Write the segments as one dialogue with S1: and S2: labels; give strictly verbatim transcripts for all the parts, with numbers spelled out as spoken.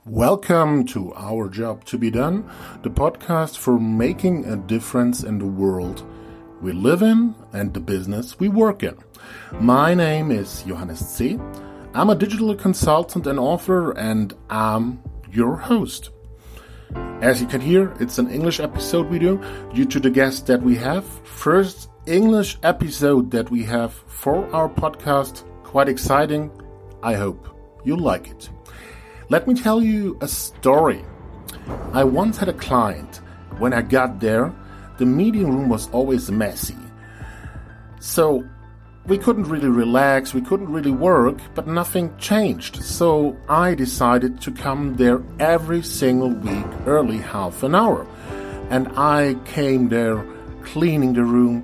S1: Welcome to Our Job to Be Done, the podcast for making a difference in the world we live in and the business we work in. My name is Johannes C. I'm a digital consultant and author, and I'm your host. As you can hear, it's an English episode we do due to the guest that we have. First English episode that we have for our podcast. Quite exciting. I hope you like it. Let me tell you a story. I once had a client. When I got there, the meeting room was always messy. So we couldn't really relax, we couldn't really work, but nothing changed. So I decided to come there every single week, early half an hour. And I came there cleaning the room,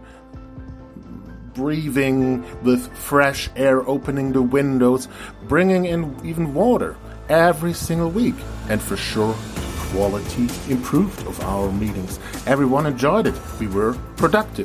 S1: breathing with fresh air, opening the windows, bringing in even water. Every single week, and for sure quality improved of our meetings. Everyone enjoyed it. We were productive.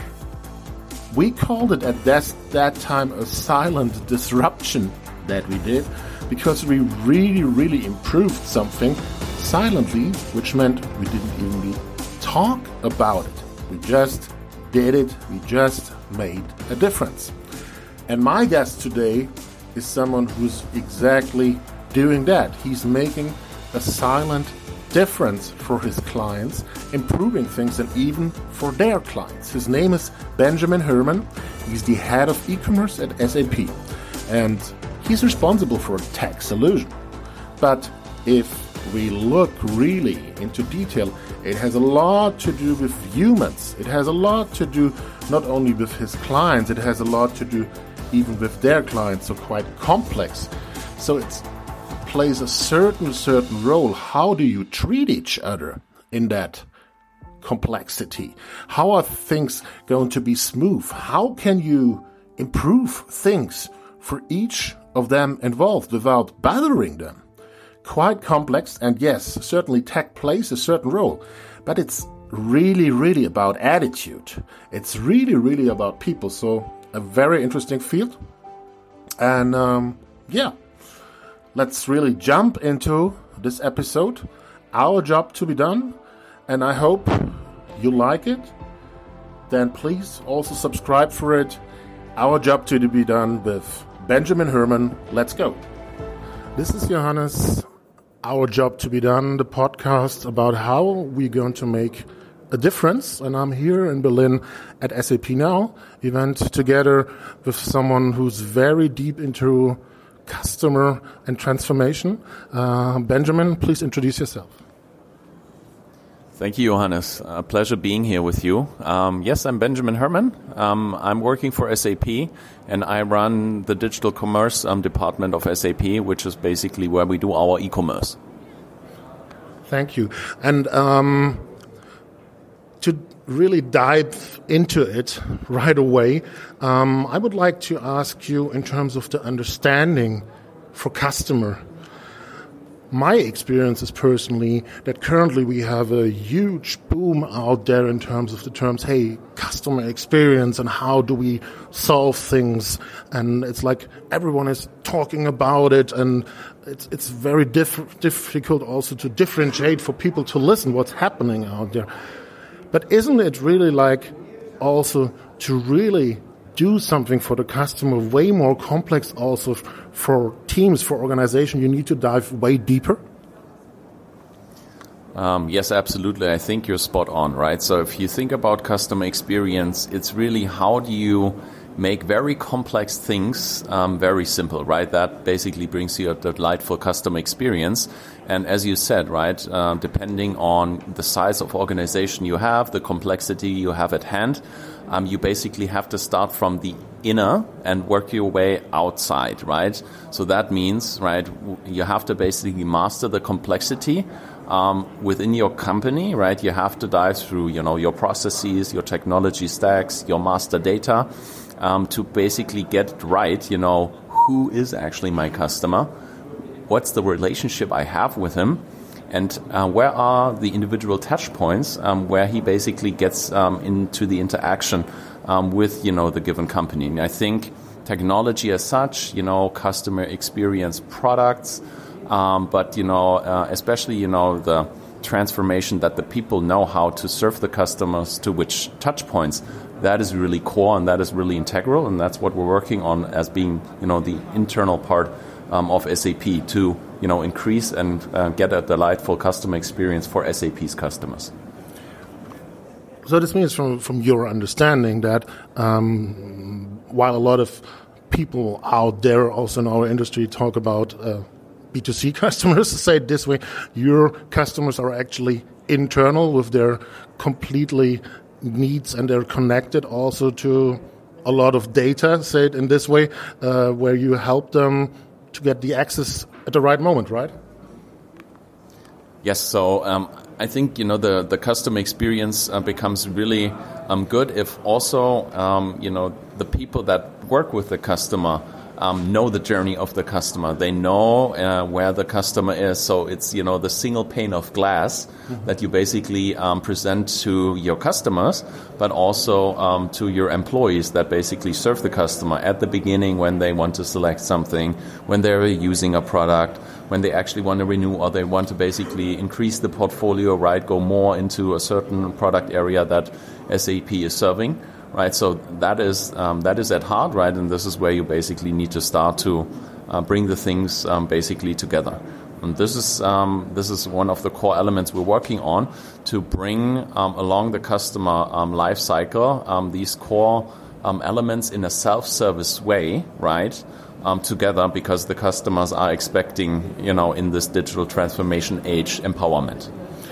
S1: We called it at that, that time a silent disruption that we did, because we really really improved something silently, which meant we didn't even talk about it. We just did it. We just made a difference. And my guest today is someone who's exactly doing that. He's making a silent difference for his clients, improving things, and even for their clients. His name is Benjamin Herman. He's the head of e-commerce at S A P, and he's responsible for a tech solution. But if we look really into detail, it has a lot to do with humans. It has a lot to do not only with his clients, it has a lot to do even with their clients, so quite complex. So it's plays a certain certain role. How do you treat each other in that complexity? How are things going to be smooth? How can you improve things for each of them involved without bothering them? Quite complex, and yes, certainly tech plays a certain role, but it's really really about attitude. It's really really about people. So a very interesting field, and um, yeah. Let's really jump into this episode, Our Job to Be Done, and I hope you like it. Then please also subscribe for it. Our Job to Be Done with Benjamin Herman. Let's go. This is Johannes, Our Job to Be Done, the podcast about how we're going to make a difference. And I'm here in Berlin at S A P Now. We went together with someone who's very deep into customer and transformation. Uh, Benjamin, please introduce yourself.
S2: Thank you, Johannes. A pleasure being here with you. Um, yes, I'm Benjamin Herman. Um, I'm working for S A P, and I run the digital commerce um, department of S A P, which is basically where we do our e-commerce.
S1: Thank you. And um, to really dive into it right away, um, I would like to ask you in terms of the understanding for customer. My experience is personally that currently we have a huge boom out there in terms of the terms, hey, customer experience and how do we solve things. And it's like everyone is talking about it, and it's it's very diff- difficult also to differentiate for people to listen what's happening out there. But isn't it really like also to really do something for the customer way more complex also for teams, for organization? You need to dive way deeper?
S2: Um, yes, absolutely. I think you're spot on, right? So if you think about customer experience, it's really how do you make very complex things um, very simple, right? That basically brings you a delightful customer experience. And as you said, right, uh, depending on the size of organization you have, the complexity you have at hand, um, you basically have to start from the inner and work your way outside, right? So that means, right, you have to basically master the complexity um, within your company, right? You have to dive through, you know, your processes, your technology stacks, your master data, um, to basically get it right, you know, who is actually my customer? What's the relationship I have with him? And uh, where are the individual touch points um, where he basically gets um, into the interaction um, with, you know, the given company? And I think technology as such, you know, customer experience products, Um, but, you know, uh, especially, you know, the transformation that the people know how to serve the customers to which touch points, that is really core and that is really integral. And that's what we're working on as being, you know, the internal part um, of S A P to, you know, increase and uh, get a delightful customer experience for S A P's customers.
S1: So this means from, from your understanding that um, while a lot of people out there also in our industry talk about uh, B two C customers, to say it this way, your customers are actually internal with their completely needs and they're connected also to a lot of data, say it in this way, uh, where you help them to get the access at the right moment, right?
S2: Yes, so um, I think, you know, the, the customer experience uh, becomes really um, good if also, um, you know, the people that work with the customer um, know the journey of the customer. They know uh, where the customer is. So it's, you know, the single pane of glass mm-hmm. that you basically um, present to your customers, but also um, to your employees that basically serve the customer at the beginning when they want to select something, when they're using a product, when they actually want to renew or they want to basically increase the portfolio, right, go more into a certain product area that S A P is serving, right? So that is um, that is at heart, right? And this is where you basically need to start to uh, bring the things um, basically together. And this is um, this is one of the core elements we're working on to bring um, along the customer um, life cycle um, these core um, elements in a self-service way, right? Um, together, because the customers are expecting, you know, in this digital transformation age, empowerment.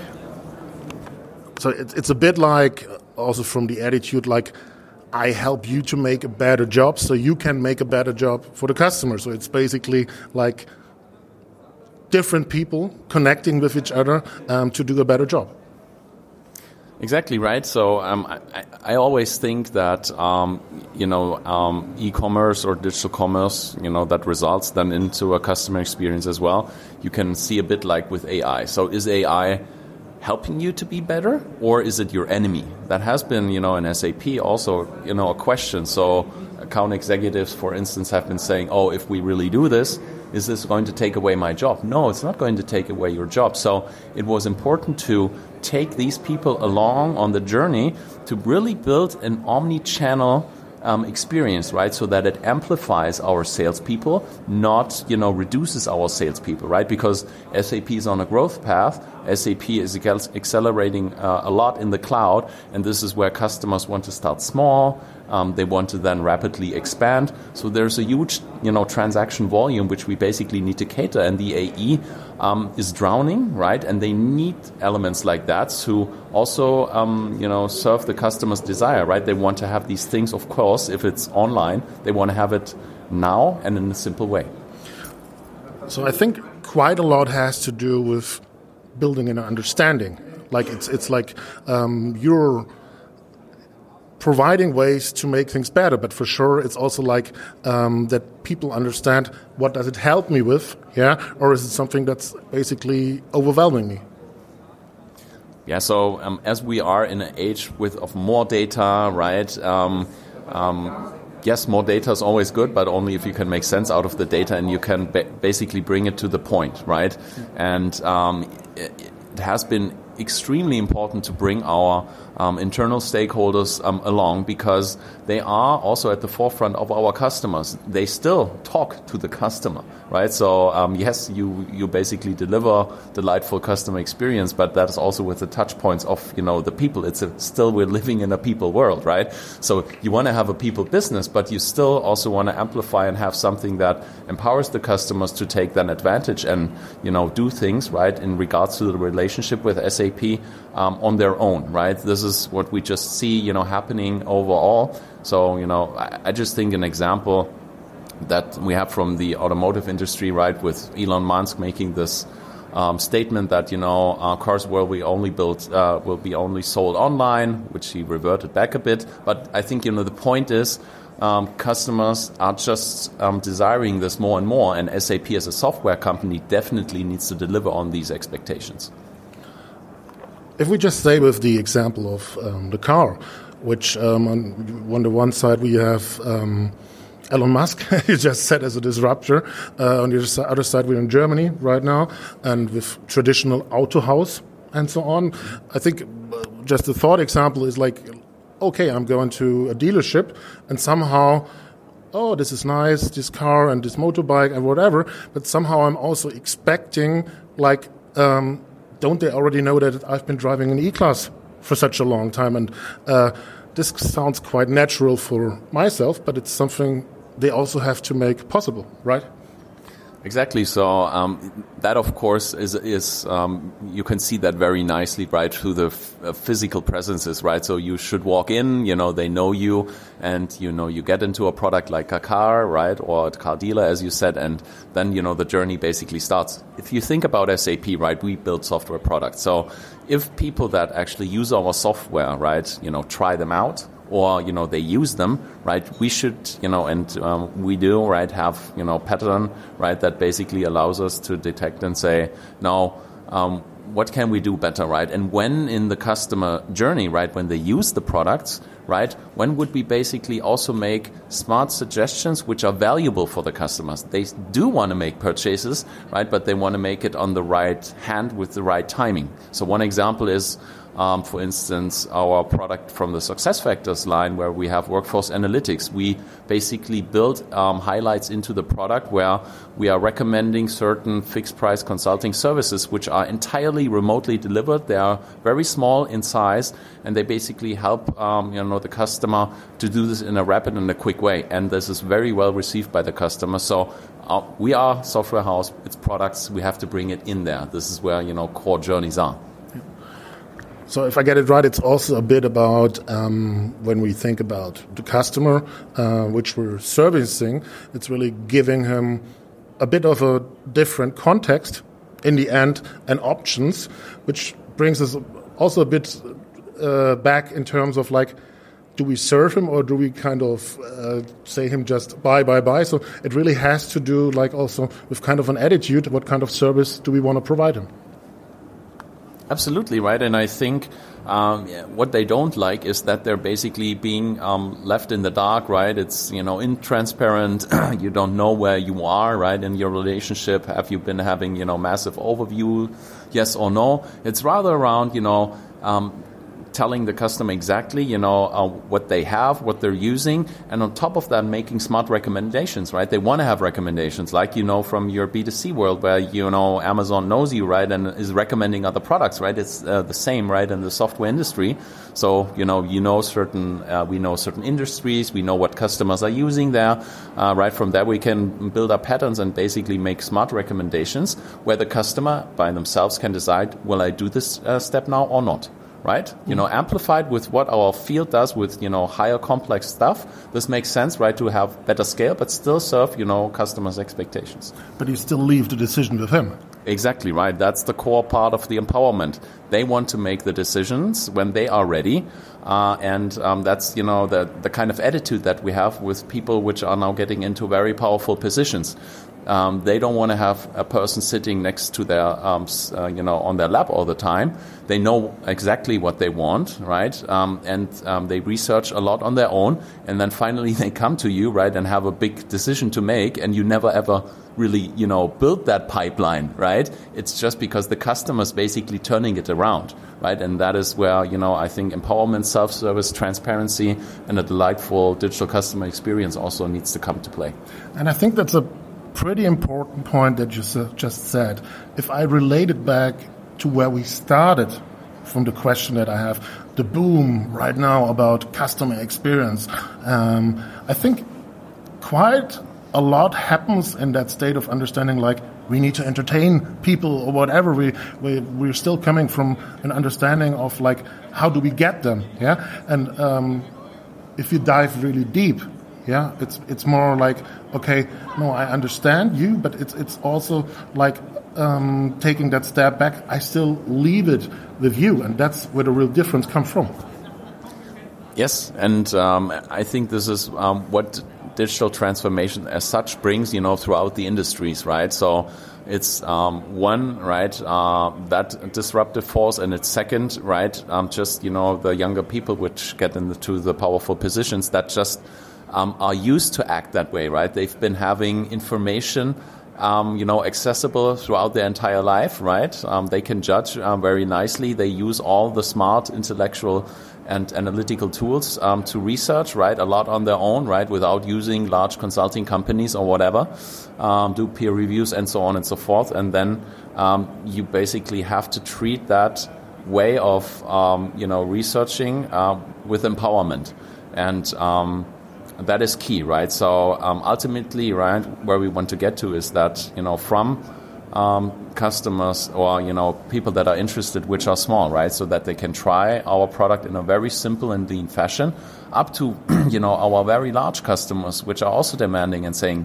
S1: So it's it's a bit like, also from the attitude, like, I help you to make a better job so you can make a better job for the customer. So it's basically like different people connecting with each other um, to do a better job.
S2: Exactly right. So um, I, I always think that um, you know um, e-commerce or digital commerce, you know, that results then into a customer experience as well. You can see a bit like with A I. So is A I helping you to be better, or is it your enemy? That has been, you know, in S A P also, you know, a question. So account executives, for instance, have been saying, "Oh, if we really do this, is this going to take away my job?" No, it's not going to take away your job. So it was important to take these people along on the journey to really build an omni-channel um, experience, right? So that it amplifies our salespeople, not, you know, reduces our salespeople, right? Because S A P is on a growth path. S A P is accelerating uh, a lot in the cloud, and this is where customers want to start small. Um, they want to then rapidly expand. So there's a huge, you know, transaction volume which we basically need to cater, and the A E um, is drowning, right? And they need elements like that to also, um, you know, serve the customer's desire, right? They want to have these things, of course, if it's online, they want to have it now and in a simple way.
S1: So I think quite a lot has to do with building an understanding. Like it's it's like um, you're providing ways to make things better, but for sure it's also like um, that people understand what does it help me with, yeah, or is it something that's basically overwhelming me?
S2: Yeah, so um, as we are in an age with of more data, right? Um, um, yes, more data is always good, but only if you can make sense out of the data and you can ba- basically bring it to the point, right? Mm-hmm. And um, it, it has been extremely important to bring our um, internal stakeholders um, along, because they are also at the forefront of our customers. They still talk to the customer, right? So um, yes, you you basically deliver delightful customer experience, but that is also with the touch points of, you know, the people. It's a, still we're living in a people world, right? So you want to have a people business, but you still also want to amplify and have something that empowers the customers to take that advantage and, you know, do things, right, in regards to the relationship with S A P um, on their own, right? This is what we just see, you know, happening overall. So, you know, I, I just think an example that we have from the automotive industry, right, with Elon Musk making this um, statement that, you know, uh, cars will be only built, uh, will be only sold online, which he reverted back a bit. But I think, you know, the point is um, customers are just um, desiring this more and more, and S A P as a software company definitely needs to deliver on these expectations.
S1: If we just stay with the example of um, the car, which um, on, on the one side we have um, Elon Musk, you just said, as a disruptor. Uh, on the other side, we're in Germany right now, and with traditional Autohaus and so on. I think just the thought example is like, okay, I'm going to a dealership, and somehow, oh, this is nice, this car and this motorbike and whatever, but somehow I'm also expecting, like, um, don't they already know that I've been driving an E-Class for such a long time? And uh, this sounds quite natural for myself, but it's something they also have to make possible, right?
S2: Exactly. So um, that, of course, is is um, you can see that very nicely, right, through the f- uh, physical presences, right? So you should walk in, you know, they know you, and you know you get into a product like a car, right, or a car dealer, as you said, and then you know the journey basically starts. If you think about S A P, right, we build software products. So if people that actually use our software, right, you know, try them out, or, you know, they use them, right, we should, you know, and um, we do, right, have, you know, pattern, right, that basically allows us to detect and say, now, um, what can we do better, right? And when in the customer journey, right, when they use the products, right, when would we basically also make smart suggestions which are valuable for the customers? They do want to make purchases, right, but they want to make it on the right hand with the right timing. So one example is, Um, for instance, our product from the SuccessFactors line, where we have workforce analytics. We basically build um, highlights into the product where we are recommending certain fixed price consulting services which are entirely remotely delivered. They are very small in size, and they basically help um, you know the customer to do this in a rapid and a quick way. And this is very well received by the customer. So uh, we are software house. It's products. We have to bring it in there. This is where you know core journeys are.
S1: So if I get it right, it's also a bit about um, when we think about the customer, uh, which we're servicing, it's really giving him a bit of a different context in the end and options, which brings us also a bit uh, back in terms of like, do we serve him or do we kind of uh, say him just bye, bye, bye? So it really has to do like also with kind of an attitude. What kind of service do we want to provide him?
S2: Absolutely, right. And I think um, yeah, what they don't like is that they're basically being um, left in the dark, right? It's, you know, intransparent. You don't know where you are, right, in your relationship. Have you been having, you know, massive overview, yes or no? It's rather around, you know, um, telling the customer exactly, you know, uh, what they have, what they're using, and on top of that, making smart recommendations, right? They want to have recommendations, like, you know, from your B two C world where, you know, Amazon knows you, right, and is recommending other products, right? It's uh, the same, right, in the software industry. So, you know, you know certain, uh, we know certain industries, we know what customers are using there, uh, right? From there, we can build up patterns and basically make smart recommendations where the customer by themselves can decide, will I do this uh, step now or not? Right? You know, amplified with what our field does with, you know, higher complex stuff. This makes sense, right, to have better scale, but still serve, you know, customers' expectations.
S1: But you still leave the decision with him.
S2: Exactly, right. That's the core part of the empowerment. They want to make the decisions when they are ready. Uh, and um, that's, you know, the, the kind of attitude that we have with people which are now getting into very powerful positions. Um, they don't want to have a person sitting next to their, um, uh, you know, on their lap all the time. They know exactly what they want, right? Um, and um, they research a lot on their own. And then finally they come to you, right, and have a big decision to make. And you never ever really, you know, build that pipeline, right? It's just because the customer's basically turning it around, right? And that is where, you know, I think empowerment, self-service, transparency, and a delightful digital customer experience also needs to come to play.
S1: And I think that's a pretty important point that you just said. If I relate it back to where we started from the question that I have, the boom right now about customer experience, um, I think quite a lot happens in that state of understanding, like we need to entertain people or whatever. We, we, we're still coming from an understanding of like, how do we get them? Yeah. And um, if you dive really deep, yeah, it's it's more like, okay, no, I understand you, but it's it's also like um, taking that step back. I still leave it with you, and that's where the real difference comes from.
S2: Yes, and um, I think this is um, what digital transformation as such brings, you know, throughout the industries, right? So it's um, one, right, uh, that disruptive force, and it's second, right, um, just, you know, the younger people which get into the powerful positions that just um, are used to act that way, right? They've been having information Um, you know, accessible throughout their entire life, right? Um, they can judge um, very nicely. They use all the smart intellectual and analytical tools um, to research, right? A lot on their own, right? Without using large consulting companies or whatever, um, do peer reviews and so on and so forth. And then um, you basically have to treat that way of, um, you know, researching uh, with empowerment. And um that is key, right? So um, ultimately, right, where we want to get to is that, you know, from um, customers or, you know, people that are interested, which are small, right, so that they can try our product in a very simple and lean fashion, up to, you know, our very large customers, which are also demanding and saying,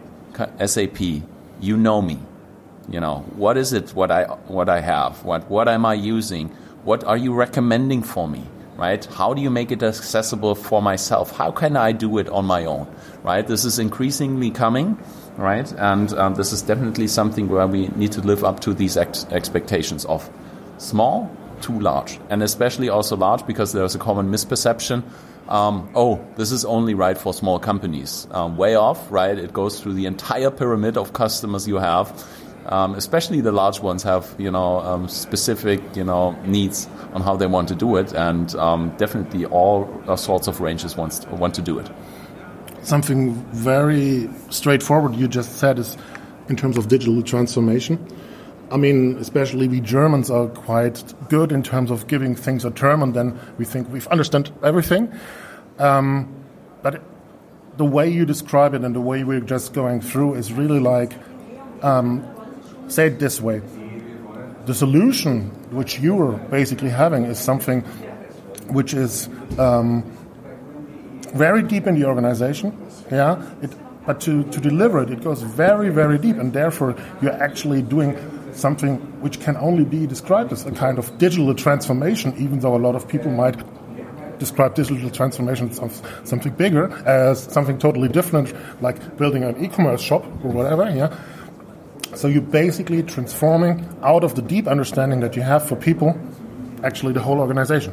S2: S A P, you know me, you know, what is it, what I what I have, what what am I using, what are you recommending for me? Right? How do you make it accessible for myself? How can I do it on my own? Right? This is increasingly coming, right? And um, this is definitely something where we need to live up to these ex- expectations of small to large, and especially also large because there's a common misperception. Um, oh, this is only right for small companies. Um, way off, right? It goes through the entire pyramid of customers you have. Um, especially the large ones have, you know, um, specific, you know, needs on how they want to do it, and um, definitely all sorts of ranges wants to, want to do it.
S1: Something very straightforward you just said is in terms of digital transformation. I mean, especially we Germans are quite good in terms of giving things a term, and then we think we've understood everything. Um, but the way you describe it and the way we're just going through is really like, um, say it this way. The solution which you are basically having is something which is um, very deep in the organization, yeah. It, but to, to deliver it, it goes very, very deep, and therefore you're actually doing something which can only be described as a kind of digital transformation, even though a lot of people might describe digital transformation as something bigger, as something totally different, like building an e-commerce shop or whatever, yeah. So you're basically transforming out of the deep understanding that you have for people, actually the whole organization.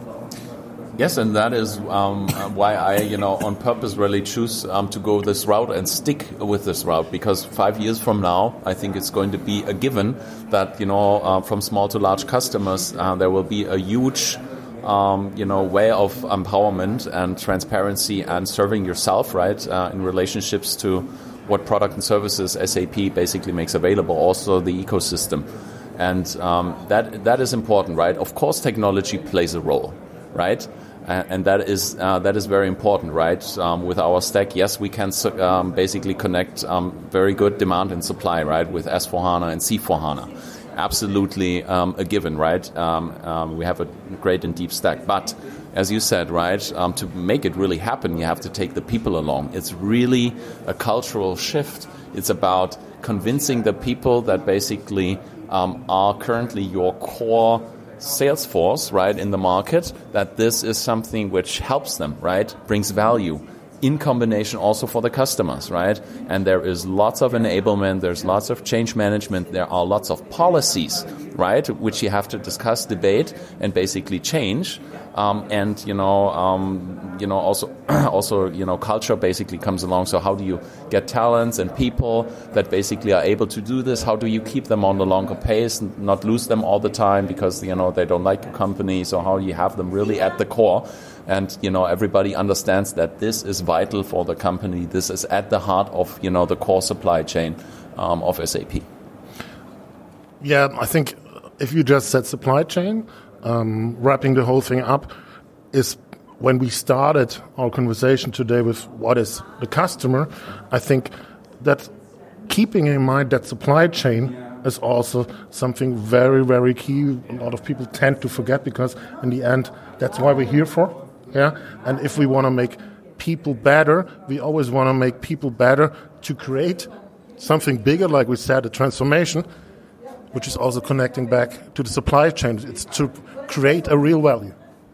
S2: Yes, and that is um, why I, you know, on purpose really choose um, to go this route and stick with this route, because five years from now, I think it's going to be a given that, you know, uh, from small to large customers, uh, there will be a huge, um, you know, way of empowerment and transparency and serving yourself, right, uh, in relationships to what product and services S A P basically makes available, also the ecosystem. And um, that that is important, right? Of course, technology plays a role, right? Uh, and that is uh, that is very important, right? Um, with our stack, yes, we can um, basically connect um, very good demand and supply, right, with S four HANA and C four HANA. Absolutely um, a given, right? Um, um, we have a great and deep stack. But as you said, right, um, to make it really happen, you have to take the people along. It's really a cultural shift. It's about convincing the people that basically um, are currently your core sales force, right, in the market, that this is something which helps them, right, brings value, in combination also for the customers, right? And there is lots of enablement, there's lots of change management, there are lots of policies, right, which you have to discuss, debate, and basically change. Um, and you know, um, you know, also, also, you know, culture basically comes along. So how do you get talents and people that basically are able to do this? How do you keep them on the longer pace and not lose them all the time because, you know, they don't like your company? So how do you have them really at the core? And, you know, everybody understands that this is vital for the company. This is at the heart of, you know, the core supply chain um, of S A P.
S1: Yeah, I think if you just said supply chain, um, wrapping the whole thing up is when we started our conversation today with what is the customer, I think that keeping in mind that supply chain is also something very, very key. A lot of people tend to forget because in the end, that's why we're here for. Yeah, and if we want to make people better, we always want to make people better to create something bigger, like we said, a transformation, which is also connecting back to the supply chain. It's to create a real value.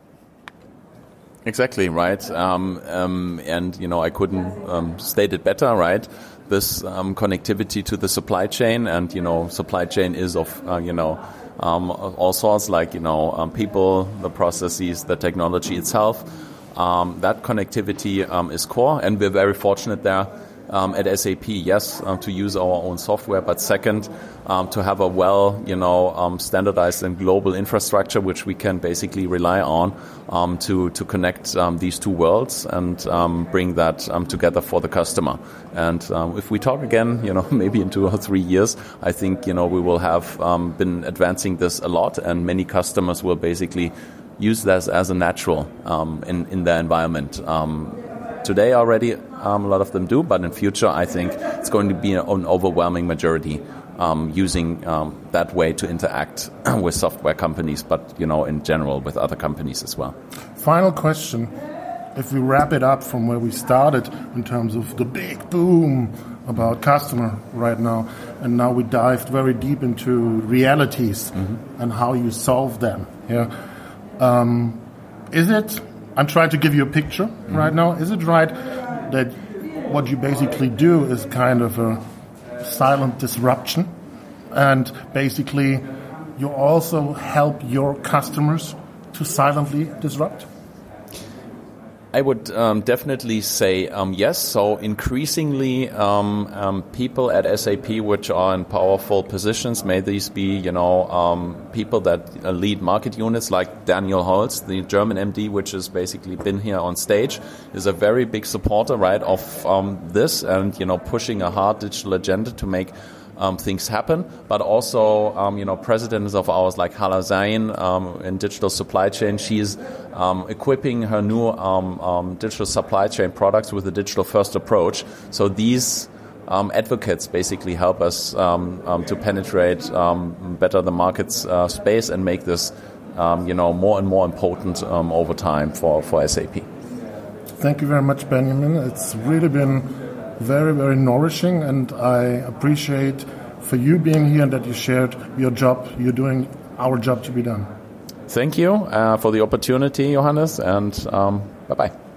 S2: Exactly, right. Um, um, and, you know, I couldn't um, state it better, right? This um, connectivity to the supply chain, and, you know, supply chain is of, uh, you know, Um, all sorts, like, you know, um, people, the processes, the technology itself, Um, that connectivity um, is core, and we're very fortunate there um, at S A P. Yes, um, to use our own software, but second, um, to have a well, you know, um, standardized and global infrastructure which we can basically rely on um, to to connect um, these two worlds and um, bring that um, together for the customer. And um, if we talk again, you know, maybe in two or three years, I think you know we will have um, been advancing this a lot, and many customers will basically use this as a natural um, in, in their environment. Um, today already, um, a lot of them do, but in future, I think it's going to be an overwhelming majority um, using um, that way to interact with software companies, but, you know, in general with other companies as well.
S1: Final question. If we wrap it up from where we started in terms of the big boom about customer right now, and now we dived very deep into realities mm-hmm. and how you solve them. Yeah. Um, is it, I'm trying to give you a picture mm-hmm. right now, is it right that what you basically do is kind of a silent disruption, and basically you also help your customers to silently disrupt?
S2: I would um, definitely say um, yes. So increasingly, um, um, people at S A P which are in powerful positions, may these be, you know, um, people that uh, lead market units like Daniel Holz, the German M D, which has basically been here on stage, is a very big supporter, right, of um, this and, you know, pushing a hard digital agenda to make Um, things happen, but also, um, you know, presidents of ours like Hala Zain um, in digital supply chain, she's um, equipping her new um, um, digital supply chain products with a digital first approach. So these um, advocates basically help us um, um, to penetrate um, better the market's uh, space and make this, um, you know, more and more important um, over time for, for S A P.
S1: Thank you very much, Benjamin. It's really been very, very nourishing, and I appreciate for you being here and that you shared your job. You're doing our job to be done.
S2: Thank you uh, for the opportunity, Johannes, and um, bye-bye.